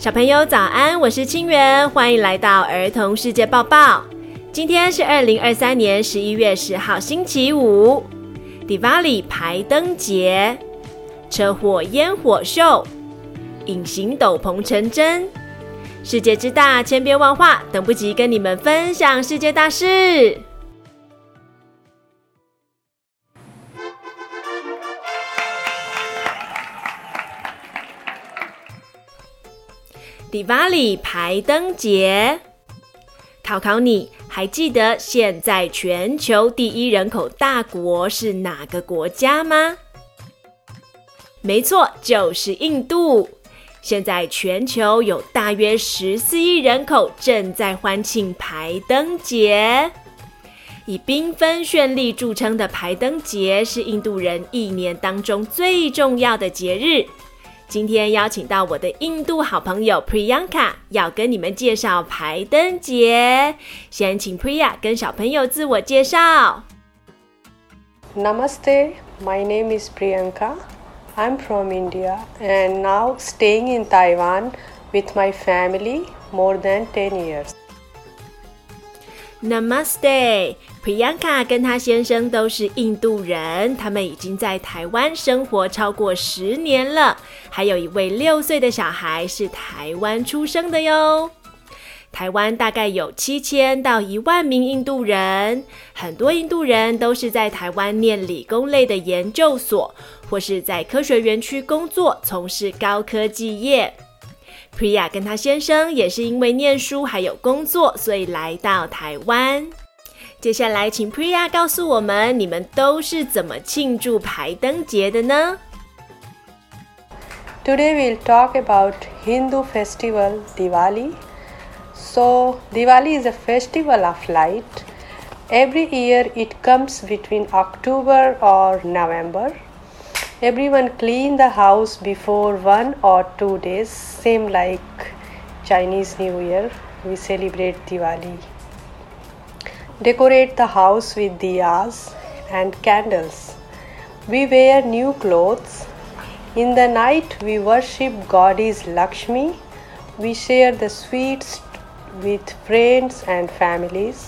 小朋友早安，我是清源，歡迎來到兒童世界報報。今天是2023年11月10號星期五，迪瓦里排燈節，車禍煙火秀，隱形斗篷成真。世界之大，千變萬化，等不及跟你們分享世界大事。迪瓦里排燈節，考考你，還記得現在全球第一人口大國是哪個國家嗎？沒錯，就是印度。現在全球有大約14億人口正在歡慶排燈節。以繽紛絢麗著稱的排燈節是印度人一年當中最重要的節日。今天邀請到我的印度好朋友 Priyanka， 要跟你們介紹排燈節。先請 Priya 跟小朋友自我介紹。 Namaste, my name is Priyanka. I'm from India and now staying in Taiwan with my family more than 10 years. Namaste, Priyanka 跟她先生都是印度人，他們已經在台灣生活超過10年了，還有一位6歲的小孩是台灣出生的喲。台灣大概有7000到1萬名印度人，很多印度人都是在台灣念理工類的研究所，或是在科學園區工作，從事高科技業。Priya 跟她先生也是因為念書還有工作，所以來到台灣。接下來請 Priya 告訴我們，你們都是怎麼慶祝排燈節的呢？ Today we'll talk about Hindu festival Diwali. So Diwali is a festival of light. Every year it comes between October or November.Everyone clean the house before 1 or 2 days, same like Chinese New Year, we celebrate Diwali. Decorate the house with diyas and candles. We wear new clothes. In the night, we worship Goddess Lakshmi. We share the sweets with friends and families.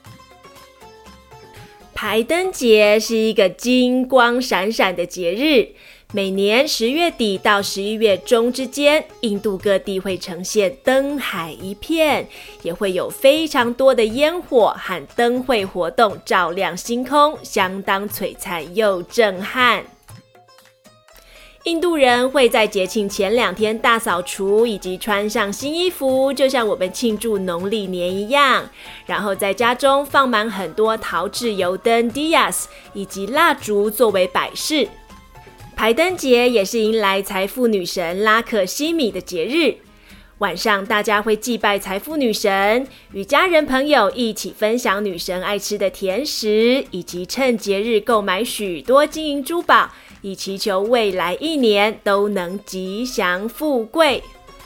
排燈節是一個金光閃閃的節日，每年10月底到11月中之間，印度各地會呈現燈海一片，也會有非常多的煙火和燈會活動照亮星空，相當璀璨又震撼。印度人會在節慶前2天大掃除，以及穿上新衣服，就像我們慶祝農曆年一樣。然後在家中放滿很多陶製油燈 diyas 以及蠟燭作為擺飾。排燈節也是迎來財富女神拉克西米的節日。晚上大家會祭拜財富女神，與家人朋友一起分享女神愛吃的甜食，以及趁節日購買許多金銀珠寶，以祈求未來1年都能吉祥富貴。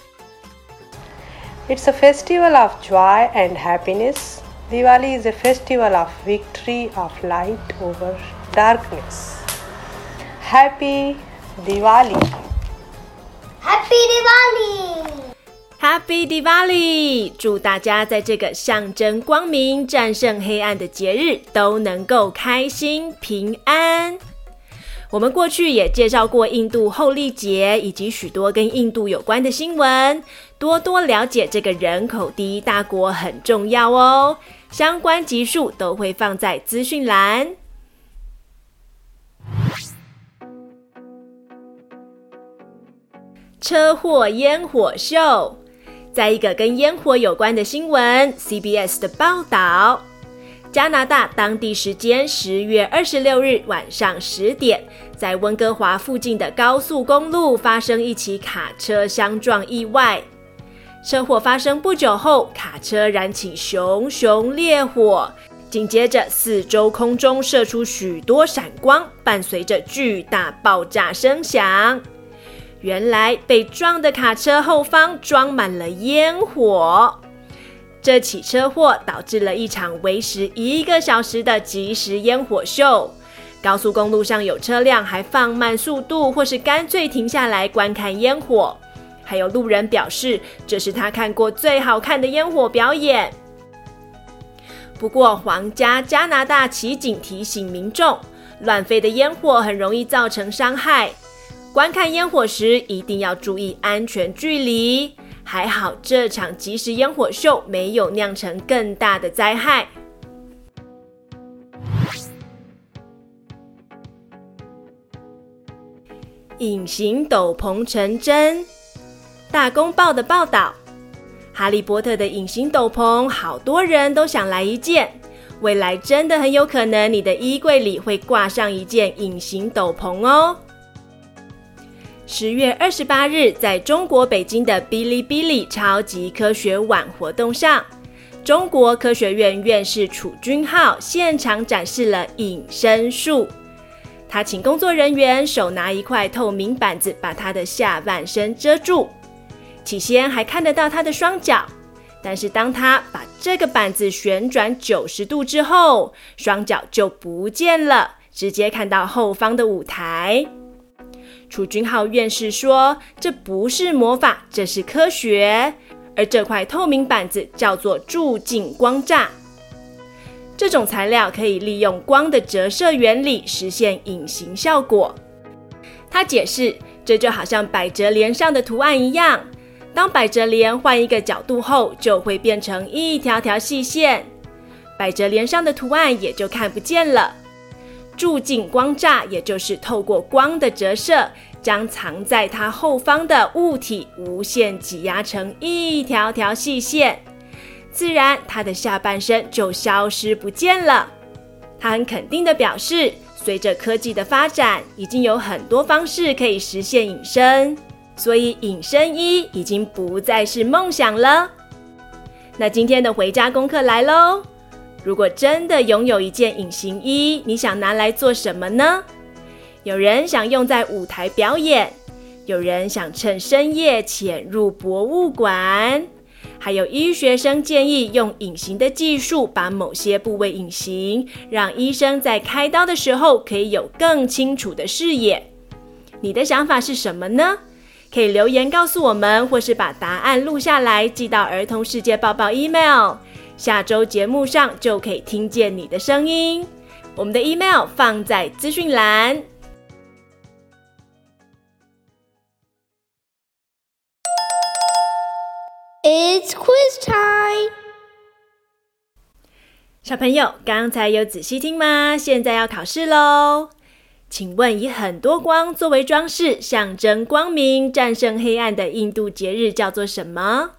It's a festival of joy and happiness. Diwali is a festival of victory of light over darkness. Happy Diwali! Happy Diwali!Happy Diwali！ 祝大家在這個象徵光明、戰勝黑暗的節日都能夠開心平安。我們過去也介紹過印度厚曆節以及許多跟印度有關的新聞，多多了解這個人口第一大國很重要哦。相關集數都會放在資訊欄。車禍煙火秀。在一個跟煙火有關的新聞 ，CBS 的報道，加拿大當地時間10月26日晚上10點，在溫哥華附近的高速公路發生一起卡車相撞意外。車禍發生不久後，卡車燃起熊熊烈火，緊接着四周空中射出許多閃光，伴隨着巨大爆炸聲響。原來被撞的卡車後方裝滿了煙火。這起車禍導致了一場維持1個小時的即時煙火秀。高速公路上有車輛還放慢速度，或是乾脆停下來觀看煙火。 還有路人表示這是他看過最好看的煙火表演。不過皇家加拿大騎警提醒民眾，亂飛的煙火很容易造成傷害，觀看煙火時一定要注意安全距離。還好這場即時煙火秀沒有釀成更大的災害。隱形斗篷成真。大公報的報道，哈利波特的隱形斗篷好多人都想來一件，未來真的很有可能你的衣櫃裡會掛上一件隱形斗篷哦。10月28日，在中國北京的嗶哩嗶哩超級科學晚活動上，中國科學院院士楚君浩現場展示了隱身術。他請工作人員手拿一塊透明板子把他的下半身遮住，起先還看得到他的雙腳，但是當他把這個板子旋轉90度之後，雙腳就不見了，直接看到後方的舞台。楚君浩院士說，這不是魔法，這是科學，而這塊透明板子叫做助鏡光柵。這種材料可以利用光的折射原理實現隱形效果。他解釋，這就好像百褶簾上的圖案一樣，當百褶簾換一個角度後，就會變成一條條細線，百褶簾上的圖案也就看不見了。助鏡光柵也就是透過光的折射，將藏在它後方的物體無限擠壓成一條條細線，自然他的下半身就消失不見了。他很肯定地表示，隨着科技的發展，已經有很多方式可以實現隱身，所以隱身衣已經不再是夢想了。那今天的回家功課來咯，如果真的擁有一件隱形衣，你想拿來做什麼呢？有人想用在舞台表演，有人想趁深夜潛入博物館，還有醫學生建議用隱形的技術把某些部位隱形，讓醫生在開刀的時候可以有更清楚的視野。你的想法是什麼呢？可以留言告訴我們，或是把答案錄下來寄到兒童世界報報 email， 下周節目上就可以聽見你的聲音。我們的 email 放在資訊欄。 It's quiz time! 小朋友，剛才有仔細聽嗎？現在要考試咯。請問以很多光作為裝飾，象徵光明戰勝黑暗的印度節日叫做什麼？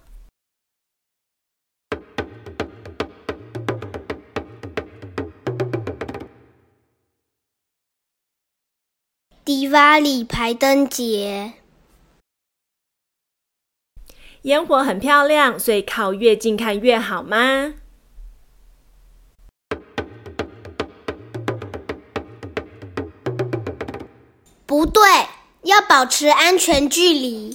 迪瓦里排燈節。 煙火很漂亮，所以靠越近看越好嗎？ 不對，要保持安全距離。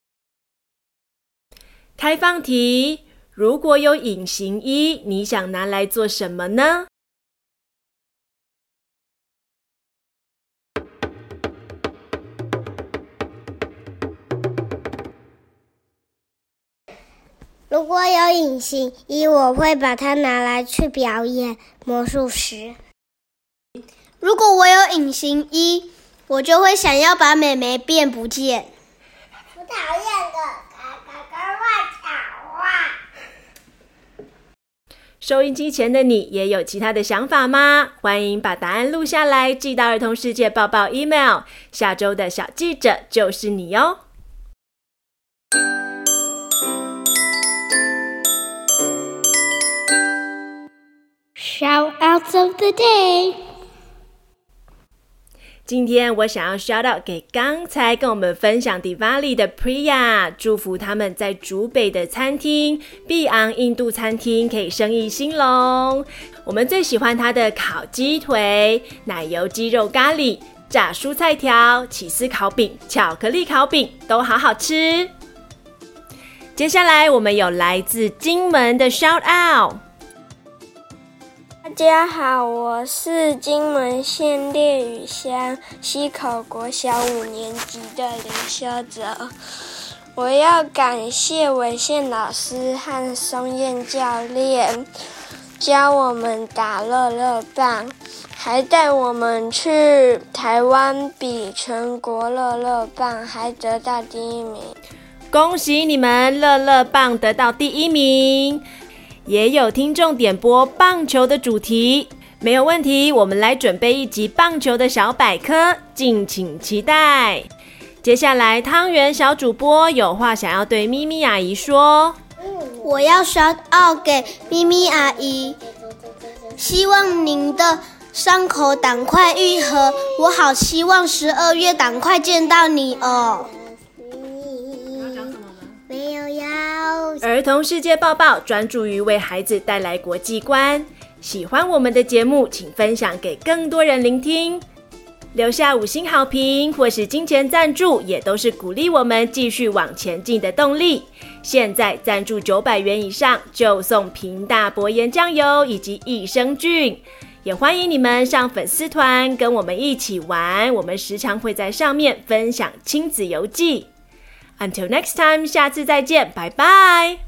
開放題，如果有隱形衣，你想拿來做什麼呢？ 如果有隱形衣，我會把它拿來去表演魔術師。如果我有隱形衣，我就會想要把妹妹變不見。我討厭的，嘎嘎嘎亂講話。 收音機前的你也有其他的想法嗎？歡迎把答案錄下來，寄到兒童世界報報 email。下周的小記者就是你哦。 Shout-outs of the day。 今天我想要 shout out 給剛才跟我們分享 Diwali 的 Priya， 祝福他們在竹北的餐廳碧昂印度餐廳可以生意興隆。我們最喜歡它的烤雞腿、奶油雞肉咖喱、炸蔬菜條、起司烤餅、巧克力烤餅都好好吃。接下來我們有來自金門的 shout out。 大家好，我是金門縣烈嶼鄉溪口國小5年級的林修哲。 我要感謝偉憲老師和松燕教練教我們打樂樂棒，還帶我們去台灣比全國樂樂棒，還得到第1名。 恭喜你們樂樂棒得到第1名！也有聽眾點播棒球的主題，沒有問題，我們來準備一集棒球的小百科，敬請期待。接下來湯圓小主播有話想要對咪咪阿姨說， 我要shout out給咪咪阿姨，希望您的傷口趕快癒合，我好希望12月趕快見到你哦。沒有要。 兒童世界報報專注於為孩子帶來國際觀，喜歡我們的節目請分享給更多人聆聽，留下5星好評或是金錢贊助，也都是鼓勵我們繼續往前進的動力。現在贊助900元以上就送屏大薄鹽醬油以及益生菌，也歡迎你們上粉絲團跟我們一起玩，我們時常會在上面分享親子遊記。Until next time，下次再見，拜拜。